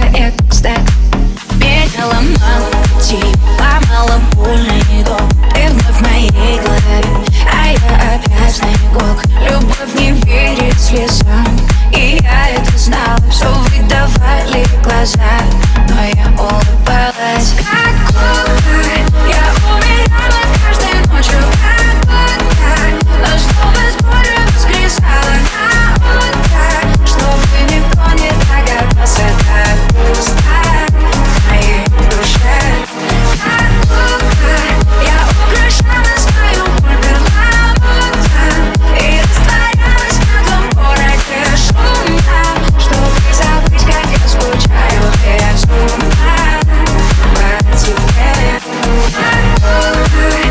я как стек. Меня ломала, ломала больный дом. Ты вновь в моей голове, а я опять снегок. Любовь не верит слезам, и я это знала. Все выдавали глаза, но я улыбалась. Как кукла, я умирала каждой ночью, как будто. Но снова с болью воскресала на утро, чтобы никто не догадался, так пусто в моей душе. Как кукла, я украшала свою боль перламутром и растворялась в этом городе шумно, чтобы забыть, как я скучаю безумно по тебе. Как кукла.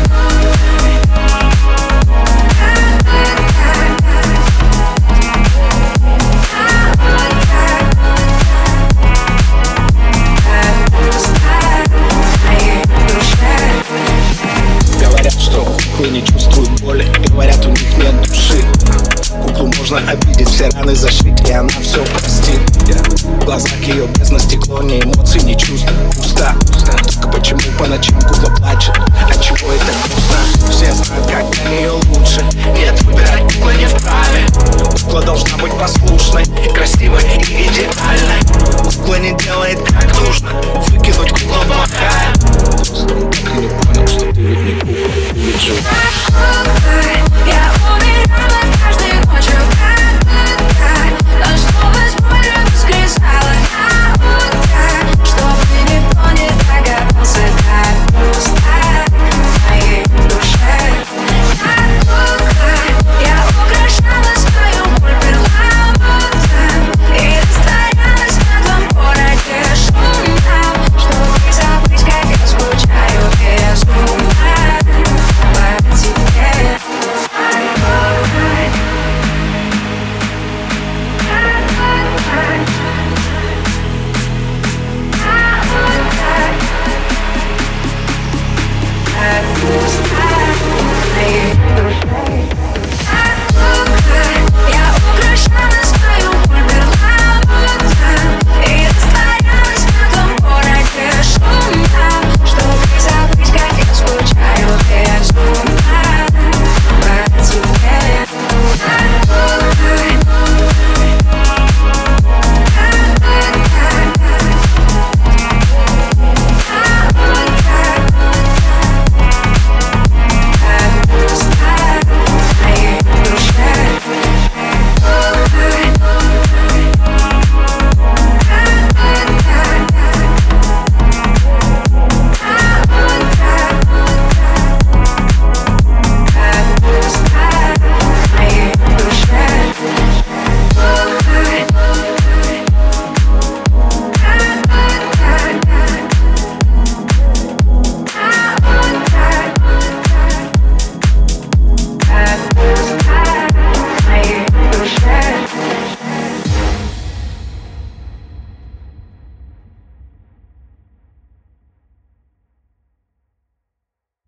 Говорят, что куклы не чувствуют боли, говорят, у них нет души. Куклу можно обидеть, все раны зашить, и она все простит. В глазах ее бездна стекло, ни эмоций, ни чувств, пусто. Только почему по ночам кукла плачет, отчего это грустно? Все знают, как для нее лучше, нет, выбирать кукла не вправе. Кукла должна быть послушной, красивой и идеальной. Кукла не делает как нужно, выкинуть кукла плохая. Просто он так и не понял, что ты ведь не кукла, ты ведь живая.